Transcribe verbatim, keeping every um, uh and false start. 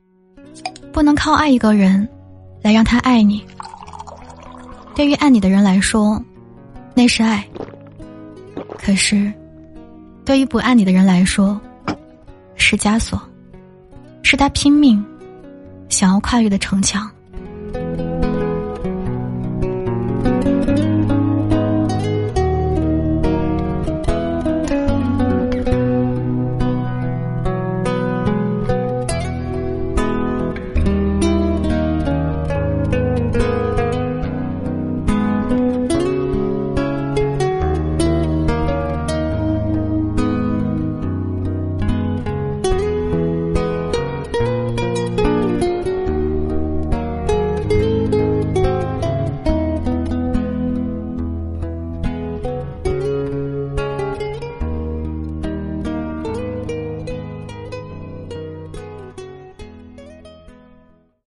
不能靠爱一个人来让他爱你。对于爱你的人来说，那是爱；可是对于不爱你的人来说，是枷锁，是他拼命想要跨越的城墙。